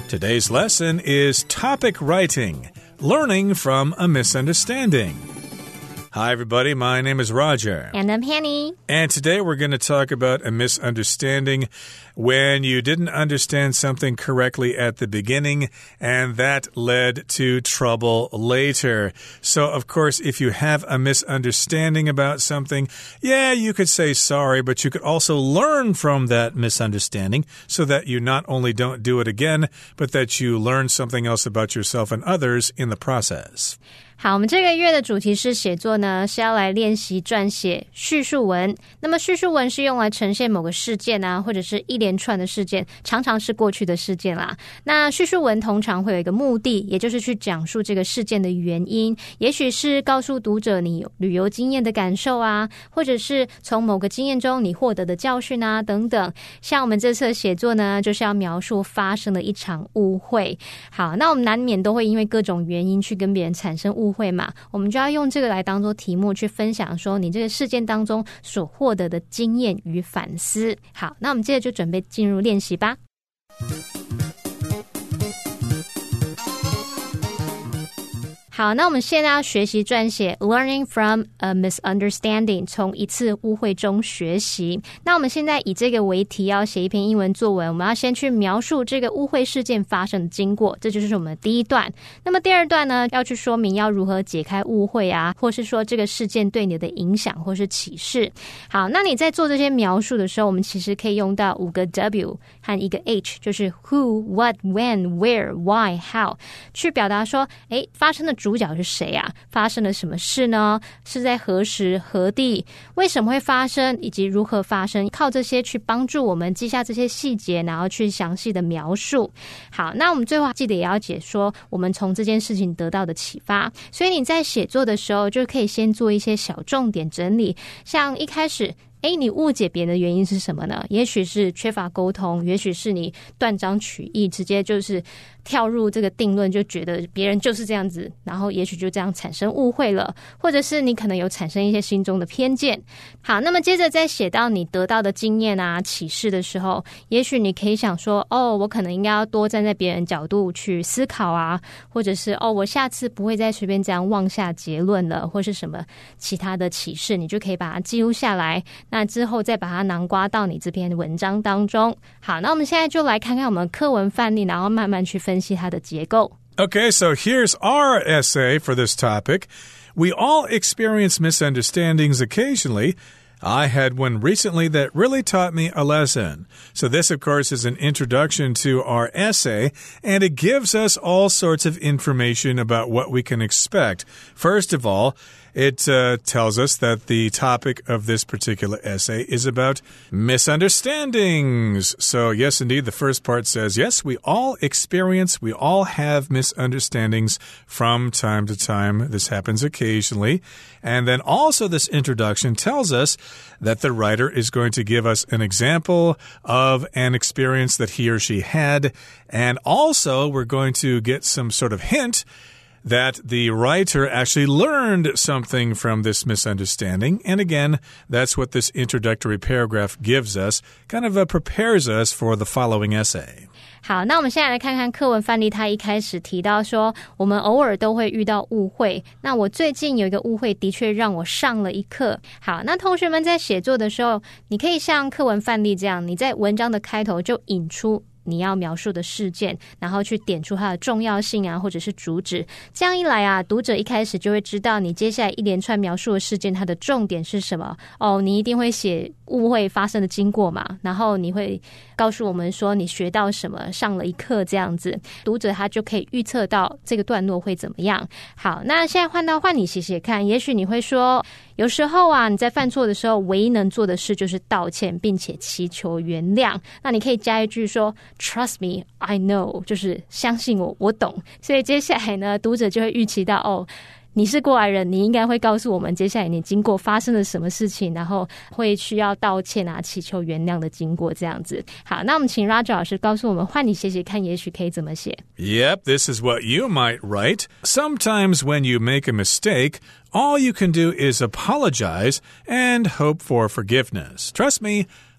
Today's lesson is topic writing, learning from a misunderstanding.Hi, everybody. My name is Roger. And I'm Penny. And today we're going to talk about a misunderstanding when you didn't understand something correctly at the beginning, and that led to trouble later. So, of course, if you have a misunderstanding about something, yeah, you could say sorry, but you could also learn from that misunderstanding so that you not only don't do it again, but that you learn something else about yourself and others in the process. 好，我们这個月的主題是寫作呢，是要來練習撰寫敘述文。那麼敘述文是用來呈現某個事件啊，或者是一連串的事件，常常是過去的事件啦。那敘述文通常會有一個目的，也就是去講述這個事件的原因，也許是告訴讀者你旅遊經驗的感受啊，或者是從某個經驗中你獲得的教訓啊，等等。像我們這次的寫作呢，就是要描述發生了一場誤會。好，那我們難免都會因為各種原因去跟別人產生誤會嘛，我們就要用這個來當做題目去分享說你這個事件當中所獲得的經驗與反思。好，那我們接着就準備進入練習吧。好，那我們現在要學習撰寫 Learning from a misunderstanding， 從一次誤會中學習。那我們現在以這個為題要寫一篇英文作文，我們要先去描述這個誤會事件發生的經過，這就是我們的第一段。那麼第二段呢，要去說明要如何解開誤會啊，或是說這個事件對你的影響或是啟示。好，那你在做這些描述的時候，我們其實可以用到5個 W 和1個 H， 就是 Who, What, When, Where, Why, How， 去表達說，發生的主角是誰啊？發生了什麼事呢？是在何時何地？為什麼會發生？以及如何發生？靠這些去幫助我們記下這些細節，然後去詳細的描述。好，那我們最後記得也要解說我們從這件事情得到的啟發。所以你在寫作的時候就可以先做一些小重點整理，像一開始你誤解別人的原因是什麼呢？也許是缺乏溝通，也許是你斷章取義，直接就是跳入這個定論，就覺得別人就是這樣子，然後也許就這樣產生誤會了，或者是你可能有產生一些心中的偏見。好，那麼接着在寫到你得到的經驗啊、啟示的時候，也許你可以想說，我可能應該要多站在別人角度去思考啊，或者是我下次不會再隨便這樣妄下結論了，或是什麼其他的啟示，你就可以把它記錄下來。那之後再把它囊括到你這篇文章當中。好，那我們現在就來看看我們課文範例，然後慢慢去分析它的結構。 Okay, so here's our essay for this topic. We all experience misunderstandings occasionally. I had one recently that really taught me a lesson. So this, of course, is an introduction to our essay, and it gives us all sorts of information about what we can expect. First of all, it tells us that the topic of this particular essay is about misunderstandings. So, yes, indeed, the first part says, yes, we all have misunderstandings from time to time. This happens occasionally. And then also this introduction tells us that the writer is going to give us an example of an experience that he or she had. And also, we're going to get some sort of hint that the writer actually learned something from this misunderstanding. And again, that's what this introductory paragraph gives us, kind of prepares us for the following essay. 好，那我們现在來看看課文範例，他一開始提到說，我們偶爾都會遇到誤會。那我最近有一個誤會，的確讓我上了一課。好，那同學們在寫作的時候，你可以像課文範例這樣，你在文章的開頭就引出你要描述的事件，然後去點出它的重要性啊，或者是主旨。這樣一來啊，讀者一開始就會知道你接下來一連串描述的事件它的重點是什麼。你一定會寫誤會發生的經過嘛，然後你會告訴我們說你學到什麼，上了一課這樣子，讀者他就可以預測到這個段落會怎麼樣。好，那現在換你寫寫看，也許你會說，有時候啊，你在犯錯的時候，唯一能做的事就是道歉，並且祈求原諒。那你可以加一句說 Trust me, I know， 就是相信我，我懂。所以接下來呢，讀者就會預期到你是過來人，你應該會告訴我們接下來你經過發生了什麼事情，然後會需要道歉啊，祈求原諒的經過這樣子。好，那我們請 Roger 老師告訴我們，換你寫寫看，也許可以怎麼寫。 Yep, this is what you might write. Sometimes when you make a mistake, all you can do is apologize and hope for forgiveness. Trust me,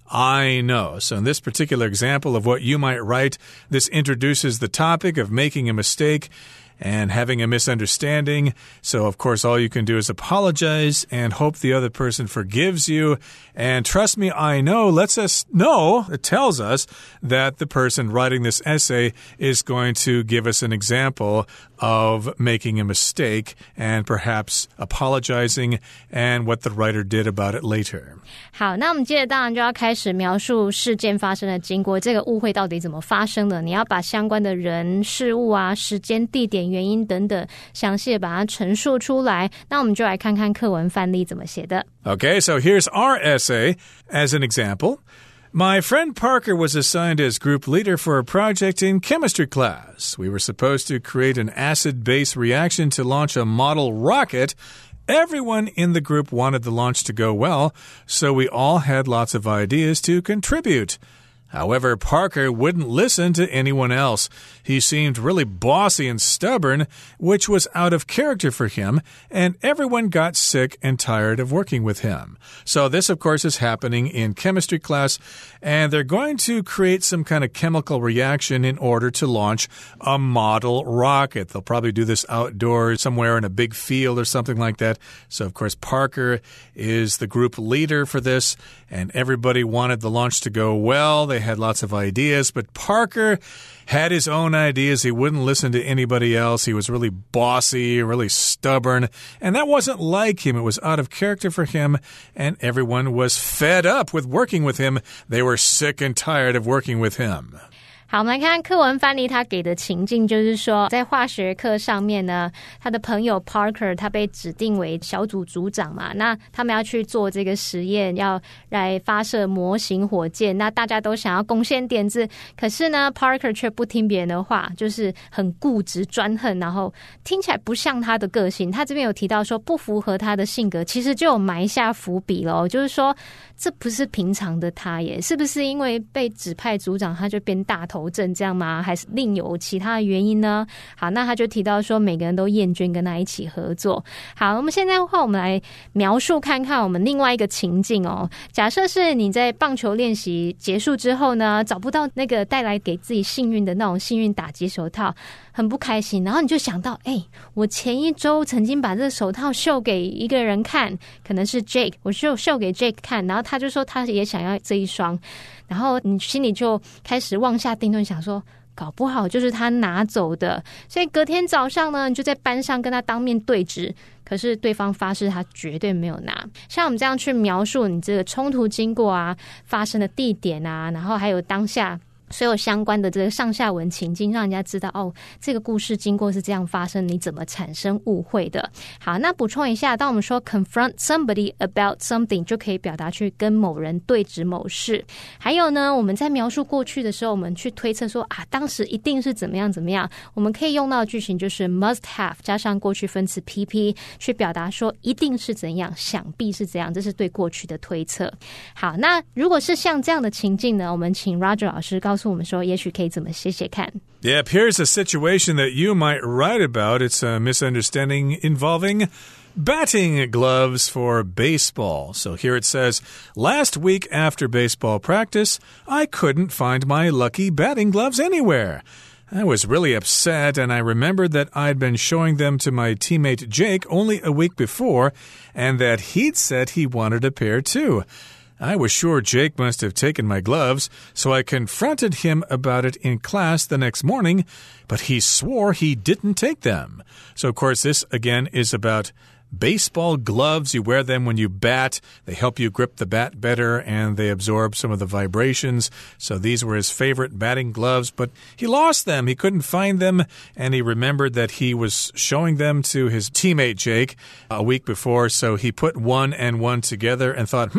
I know. So in this particular example of what you might write, this introduces the topic of making a mistake and having a misunderstanding. So, of course, all you can do is apologize and hope the other person forgives you. And trust me, I know, lets us know, it tells us that the person writing this essay is going to give us an example of making a mistake and perhaps apologizing and what the writer did about it later. 好，那我们接着当然就要开始描述事件发生的经过，这个误会到底怎么发生的，你要把相关的人、事物啊、时间、地点、原因等等详细的把它陈述出来。那我们就来看看课文范例怎么写的。 Okay, so here's our essay as an example. My friend Parker was assigned as group leader for a project in chemistry class. We were supposed to create an acid-base reaction to launch a model rocket. Everyone in the group wanted the launch to go well, so we all had lots of ideas to contribute. However, Parker wouldn't listen to anyone else. He seemed really bossy and stubborn, which was out of character for him, and everyone got sick and tired of working with him. So this, of course, is happening in chemistry class, and they're going to create some kind of chemical reaction in order to launch a model rocket. They'll probably do this outdoors somewhere in a big field or something like that. So, of course, Parker is the group leader for this, and everybody wanted the launch to go well. They had lots of ideas, but Parker had his own ideas. He wouldn't listen to anybody else. He was really bossy, really stubborn, and that wasn't like him. It was out of character for him, and everyone was fed up with working with him. They were sick and tired of working with him. 好，我们来看课文范例，他給的情境就是說，在化學課上面呢，他的朋友 Parker 他被指定為小組組長嘛，那他們要去做這個實驗，要來發射模型火箭，那大家都想要貢獻點子，可是呢 Parker 卻不聽別人的話，就是很固執專橫，然後聽起來不像他的個性。他這邊有提到說不符合他的性格，其實就有埋下伏筆了，就是說這不是平常的他耶，是不是因為被指派組長他就變大頭症這樣嗎？還是另有其他的原因呢？好，那他就提到說每個人都厭倦跟他一起合作。好，我們現在的話我們來描述看看我們另外一個情境哦。假設是你在棒球練習結束之後呢，找不到那個帶來給自己幸運的那種幸運打擊手套，很不開心，然後你就想到我前一周曾經把這個手套秀給一個人看，可能是 Jake， 我秀給 Jake 看，然後他就說他也想要這一雙，然後你心裡就開始妄下定論，想說搞不好就是他拿走的，所以隔天早上呢，你就在班上跟他當面對質，可是對方發誓他絕對沒有拿。像我們這樣去描述你這個衝突經過啊，發生的地點啊，然後還有當下所有相關的這個上下文情境，讓人家知道哦，這個故事經過是這樣發生，你怎麼產生誤會的。好，那補充一下，當我們說 confront somebody about something 就可以表達去跟某人對質某事。還有呢，我們在描述過去的時候，我們去推測說啊，當時一定是怎麼樣怎麼樣，我們可以用到的句型就是 must have 加上過去分詞 PP 去表達說一定是怎樣，想必是怎樣，這是對過去的推測。好，那如果是像這樣的情境呢，我們請 Roger 老師告訴我們說也許可以怎麼寫寫看。 Yep, here's a situation that you might write about. It's a misunderstanding involving batting gloves for baseball. So here it says, last week after baseball practice, I couldn't find my lucky batting gloves anywhere. I was really upset, and I remembered that I'd been showing them to my teammate Jake only a week before, and that he'd said he wanted a pair too. I was sure Jake must have taken my gloves, so I confronted him about it in class the next morning, but he swore he didn't take them. So, of course, this, again, is about baseball gloves. You wear them when you bat. They help you grip the bat better, and they absorb some of the vibrations. So these were his favorite batting gloves, but he lost them. He couldn't find them, and he remembered that he was showing them to his teammate Jake a week before, so he put one and one together and thought,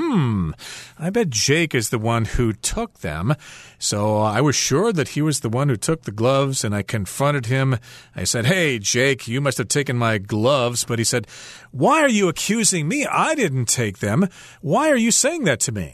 I bet Jake is the one who took them. So I was sure that he was the one who took the gloves, and I confronted him. I said, hey, Jake, you must have taken my gloves. But he said, why are you accusing me? I didn't take them. Why are you saying that to me?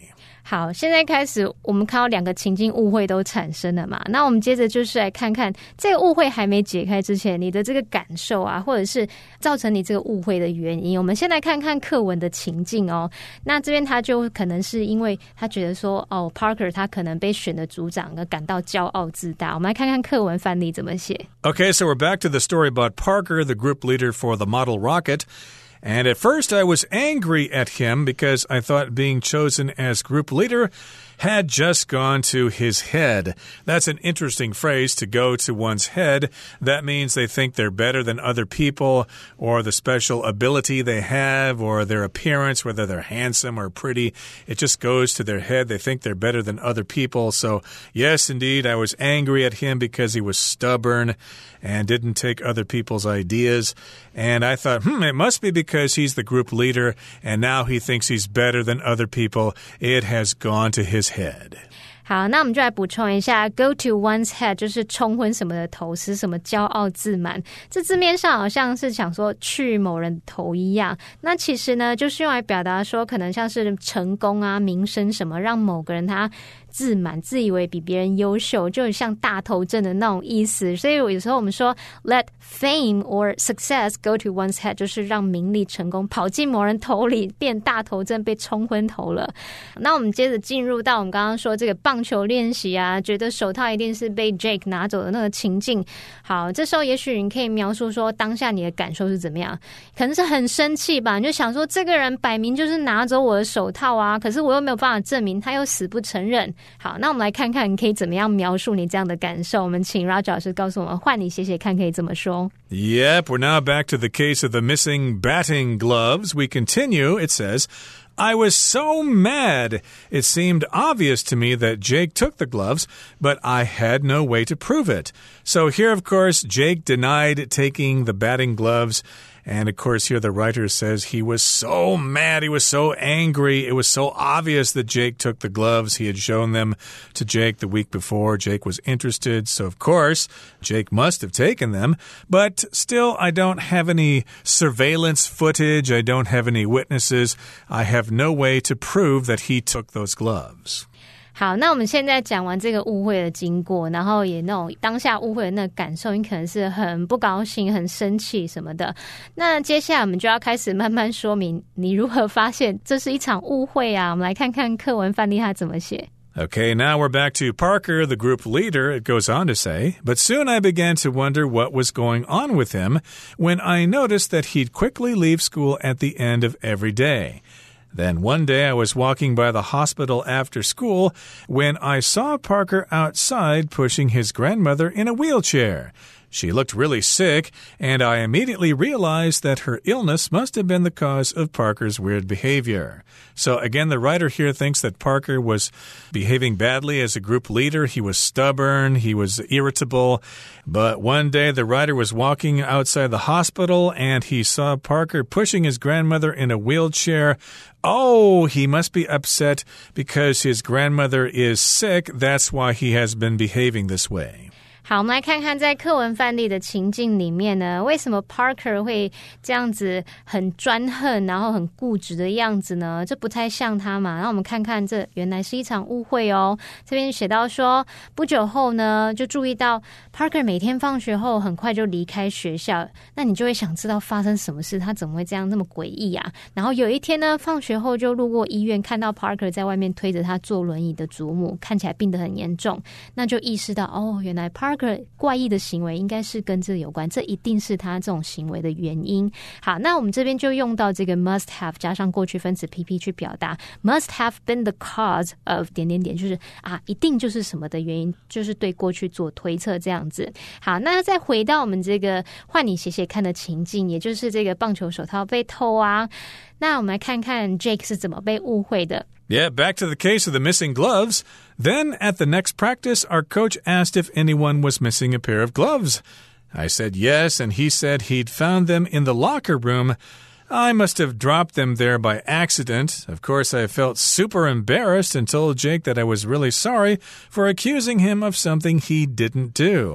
好，现在開始我們看到兩個情境誤會都產生了嘛，那我們接着就是來看看這個誤會還沒解開之前，你的這個感受啊，或者是造成你這個誤會的原因。我們先來看看課文的情境哦。那這邊他就可能是因為他覺得說Parker 他可能被選的組長而感到驕傲自大。我們來看看課文範例怎麼寫。 Okay, so we're back to the story about Parker, the group leader for the model rocket.And at first I was angry at him because I thought being chosen as group leader had just gone to his head. That's an interesting phrase, to go to one's head. That means they think they're better than other people, or the special ability they have, or their appearance, whether they're handsome or pretty. It just goes to their head. They think they're better than other people. So, yes, indeed, I was angry at him because he was stubborn and didn't take other people's ideas. And I thought, it must be because he's the group leader, and now he thinks he's better than other people. It has gone to his head. 好，那我们就來補充一下 go to one's head 就是沖昏什麼的頭，使什麼驕傲自滿。這字面上好像是想說去某人的頭一樣，那其實呢就是用來表達說可能像是成功啊、名聲什麼，讓某個人他自滿，自以為比別人優秀，就很像大頭症的那種意思。所以有時候我們說 let fame or success go to one's head 就是讓名利成功跑進某人頭裡，變大頭症，被沖昏頭了。那我們接着進入到我們剛剛說這個棒球練習啊，覺得手套一定是被 Jake 拿走的那個情境。好，這時候也許你可以描述說當下你的感受是怎麼樣，可能是很生氣吧，你就想說這個人擺明就是拿走我的手套啊，可是我又沒有辦法證明，他又死不承認。好，那我們來看看你可以怎麼樣描述你這樣的感受。我們請 Roger 老師告訴我們，換你寫寫看可以怎麼說。 Yep, we're now back to the case of the missing batting gloves. We continue, it says,I was so mad. It seemed obvious to me that Jake took the gloves, but I had no way to prove it. So here, of course, Jake denied taking the batting gloves. And, of course, here the writer says he was so mad, he was so angry. It was so obvious that Jake took the gloves. He had shown them to Jake the week before. Jake was interested, so, of course, Jake must have taken them. But still, I don't have any surveillance footage. I don't have any witnesses. I have no way to prove that he took those gloves. 好，那我們現在講完這個誤會的經過，然後也那種當下誤會的那個感受，你可能是很不高興、很生氣什麼的。那接下來我們就要開始慢慢說明你如何發現這是一場誤會啊。我們來看看課文範例它怎麼寫。 Okay, now we're back to Parker, the group leader, it goes on to say, but soon I began to wonder what was going on with him when I noticed that he'd quickly leave school at the end of every day.Then one day I was walking by the hospital after school when I saw Parker outside pushing his grandmother in a wheelchair. She looked really sick, and I immediately realized that her illness must have been the cause of Parker's weird behavior. So again, the writer here thinks that Parker was behaving badly as a group leader. He was stubborn, he was irritable. But one day the writer was walking outside the hospital, and he saw Parker pushing his grandmother in a wheelchair.Oh, he must be upset because his grandmother is sick. That's why he has been behaving this way. 好，我们来看看在課文範例的情境裡面呢，為什麼 Parker 會這樣子很專橫，然後很固執的樣子呢？這不太像他嘛。那我們看看，這原來是一場誤會哦。這邊寫到說，不久後呢，就注意到 Parker 每天放學後很快就離開學校，那你就會想知道發生什麼事，他怎麼會這樣那麼詭異啊？然後有一天呢，放學後就路過醫院，看到 Parker 在外面推着他坐輪椅的祖母，看起來病得很嚴重，那就意識到哦，原來 Parker怪異的行為應該是跟這有關，這一定是他這種行為的原因。好，那我們這邊就用到這個 must have 加上過去分詞 PP 去表達 must have been the cause of 點點點，就是啊，一定就是什麼的原因，就是對過去做推測這樣子。好，那再回到我們這個換你寫寫看的情境，也就是這個棒球手套被偷啊。那我們來看看 Jake 是怎麼被誤會的。 Yeah, back to the case of the missing gloves. Then at the next practice, our coach asked if anyone was missing a pair of gloves. I said yes, and he said he'd found them in the locker room. I must have dropped them there by accident. Of course, I felt super embarrassed and told Jake that I was really sorry for accusing him of something he didn't do.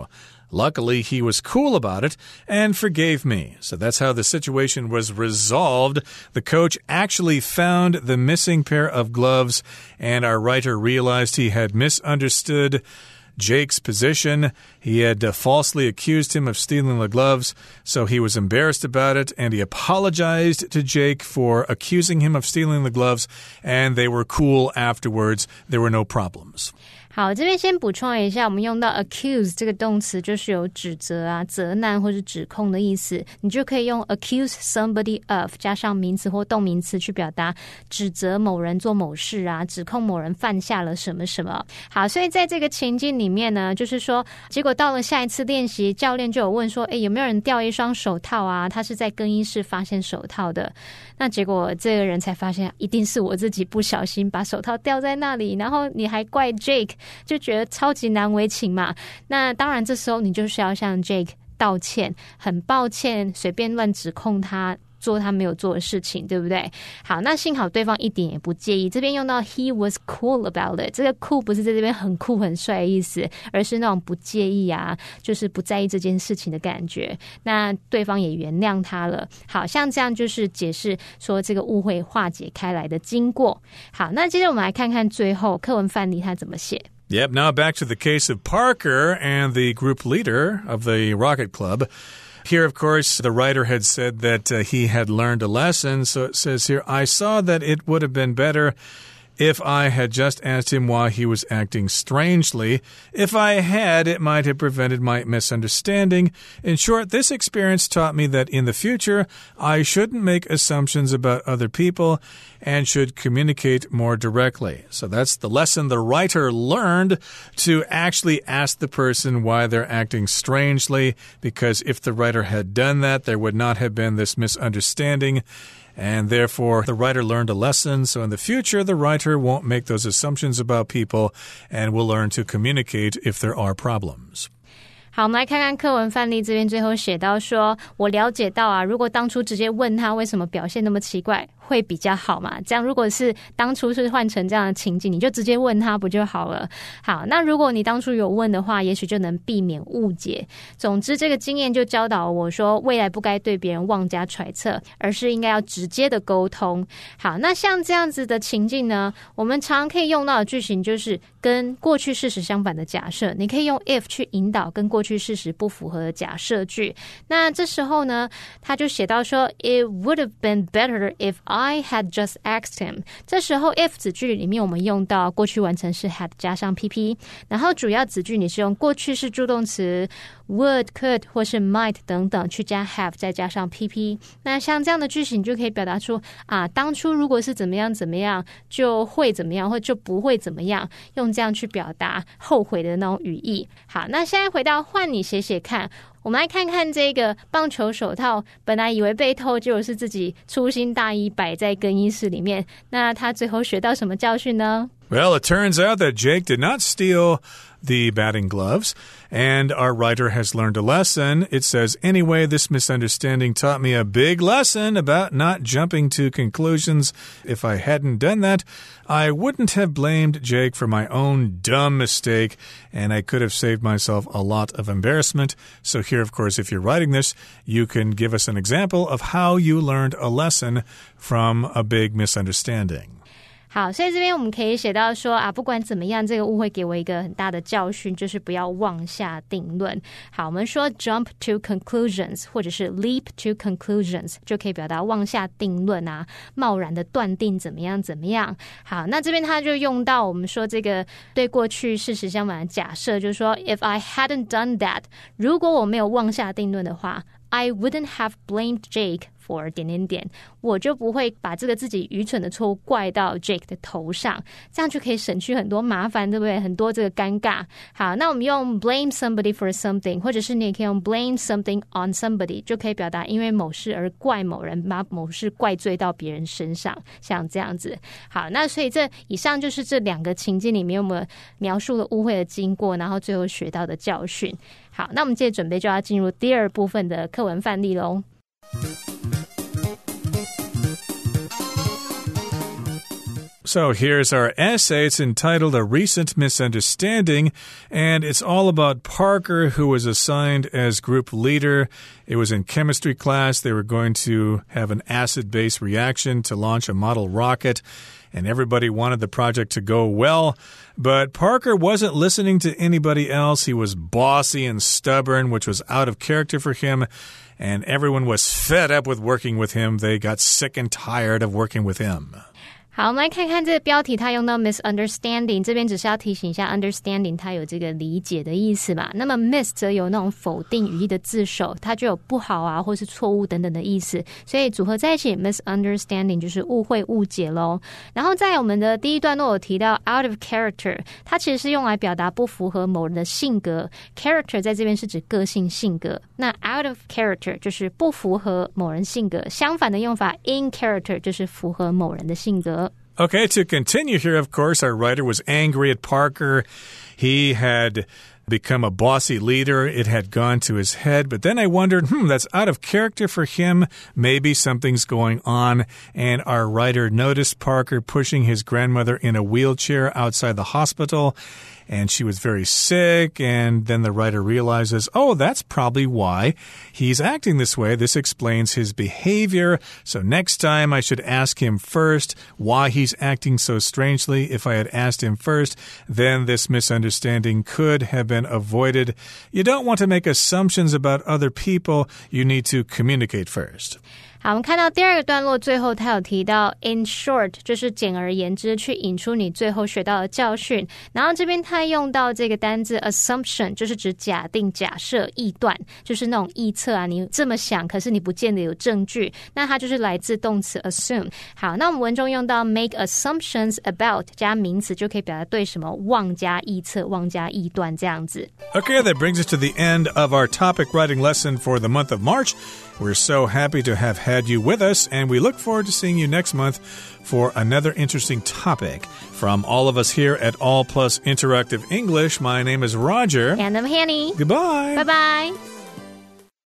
Luckily, he was cool about it and forgave me. So that's how the situation was resolved. The coach actually found the missing pair of gloves, and our writer realized he had misunderstood Jake's position. He had falsely accused him of stealing the gloves, so he was embarrassed about it, and he apologized to Jake for accusing him of stealing the gloves, and they were cool afterwards. There were no problems. 好，这邊先補充一下，我們用到 accuse 這個動詞就是有指責啊、責難或是指控的意思，你就可以用 accuse somebody of 加上名詞或動名詞去表達指責某人做某事啊，指控某人犯下了什麼什麼。好，所以在這個情境裡面呢，就是說，結果到了下一次練習，教練就有問說，有沒有人掉一雙手套啊？他是在更衣室發現手套的。那結果這個人才發現，一定是我自己不小心把手套掉在那裡，然後你還怪 Jake， 就覺得超級難為情嘛。那當然這時候你就是要向 Jake 道歉，很抱歉隨便亂指控他做他沒有做的事情，對不對？好，那幸好對方一點也不介意。這邊用到 he was cool about it， 這個 cool 不是在這邊很酷很帥的意思，而是那種不介意啊，就是不在意這件事情的感覺。那對方也原諒他了。好，像這樣就是解釋說這個誤會化解開來的經過。好，那接着我們來看看最後課文範例他怎麼寫。 Yep, now back to the case of Parker and the group leader of the Rocket Club.Here, of course, the writer had said that he had learned a lesson. So it says here, I saw that it would have been better if I had just asked him why he was acting strangely. If I had, it might have prevented my misunderstanding. In short, this experience taught me that in the future, I shouldn't make assumptions about other people and should communicate more directly. So that's the lesson the writer learned, to actually ask the person why they're acting strangely, because if the writer had done that, there would not have been this misunderstanding.And therefore, the writer learned a lesson. So in the future, the writer won't make those assumptions about people and will learn to communicate if there are problems. 好，我們來看看課文範例這邊最後寫到說，我了解到啊，如果當初直接問他為什麼表現那麼奇怪，會比較好嘛。這樣如果是當初是換成這樣的情景，你就直接問他不就好了。好，那如果你當初有問的話，也許就能避免誤解。總之這個經驗就教導我說，未來不該對別人妄加揣測，而是應該要直接的溝通。好，那像這樣子的情境呢，我們常可以用到的句型就是跟過去事實相反的假設，你可以用 if 去引導跟過去事實不符合的假設句。那這時候呢，他就寫到說 It would have been better if I had just asked him。 這時候 if 子句裡面我們用到過去完成式 had 加上 PP， 然後主要子句你是用過去式助動詞 would, could 或是 might 等等去加 have 再加上 PP。 那像這樣的句型你就可以表達出啊，當初如果是怎麼樣怎麼樣就會怎麼樣，或就不會怎麼樣，用這樣去表達後悔的那種語義。好，那現在回到換你寫寫看，我們來看看這個棒球手套，本來以為被偷，結果是自己粗心大意擺在更衣室裡面。那他最後學到什麼教訓呢？ Well, it turns out that Jake did not steal the batting gloves, and our writer has learned a lesson. It says, anyway, this misunderstanding taught me a big lesson about not jumping to conclusions. If I hadn't done that, I wouldn't have blamed Jake for my own dumb mistake, and I could have saved myself a lot of embarrassment. So here, of course, if you're writing this, you can give us an example of how you learned a lesson from a big misunderstanding. 好，所以這邊我們可以寫到說啊，不管怎麼樣，這個誤會給我一個很大的教訓，就是不要妄下定論。好，我們說 jump to conclusions 或者是 leap to conclusions 就可以表達妄下定論啊，貿然的斷定怎麼樣怎麼樣。好，那這邊他就用到我們說這個對過去事實相反的假設，就是說 if I hadn't done that， 如果我沒有妄下定論的話， I wouldn't have blamed Jake for 點點點，我就不會把這個自己愚蠢的錯誤怪到 Jake 的頭上，這樣就可以省去很多麻煩，對不對？很多這個尷尬。好，那我們用 blame somebody for something， 或者是你也可以用 blame something on somebody， 就可以表達因為某事而怪某人，把某事怪罪到別人身上，像這樣子。好，那所以這以上就是這兩個情境裡面我們描述了誤會的經過，然後最後學到的教訓。好，那我們接着準備就要進入第二部分的課文範例咯。 So here's our essay. It's entitled A Recent Misunderstanding, and it's all about Parker, who was assigned as group leader. It was in chemistry class. They were going to have an acid-base reaction to launch a model rocket, and everybody wanted the project to go well. But Parker wasn't listening to anybody else. He was bossy and stubborn, which was out of character for him, and everyone was fed up with working with him. They got sick and tired of working with him. 好，我们来看看这个标题，它用到 misunderstanding， 这边只是要提醒一下 understanding 它有这个理解的意思嘛。那麼 miss 則有那種否定語義的字首，它就有不好啊或是錯誤等等的意思，所以組合在一起 misunderstanding 就是誤會誤解咯。然後在我們的第一段落有提到 out of character， 它其實是用來表達不符合某人的性格， character 在這邊是指個性性格，那 out of character 就是不符合某人性格，相反的用法 in character 就是符合某人的性格。 Okay, to continue here, of course, our writer was angry at Parker. He had become a bossy leader. It had gone to his head. But then I wondered, that's out of character for him. Maybe something's going on. And our writer noticed Parker pushing his grandmother in a wheelchair outside the hospital. And she was very sick, and then the writer realizes, oh, that's probably why he's acting this way. This explains his behavior. So next time I should ask him first why he's acting so strangely. If I had asked him first, then this misunderstanding could have been avoided. You don't want to make assumptions about other people. You need to communicate first. 好，我们看到第二個段落最後他有提到 in short 就是簡而言之去引出你最後學到的教訓，然後這邊他用到這個單字 assumption 就是指假定假設臆斷，就是那種臆測啊，你這麼想可是你不見得有證據，那它就是來自動詞 assume。 好，那我們文中用到 make assumptions about 加名詞就可以表達對什麼妄加臆測妄加臆斷這樣子。 Okay, that brings us to the end of our topic writing lesson for the month of March. We're so happy to have had you with us, and we look forward to seeing you next month for another interesting topic. From all of us here at All Plus Interactive English, my name is Roger. And I'm Hanny. Goodbye. Bye-bye.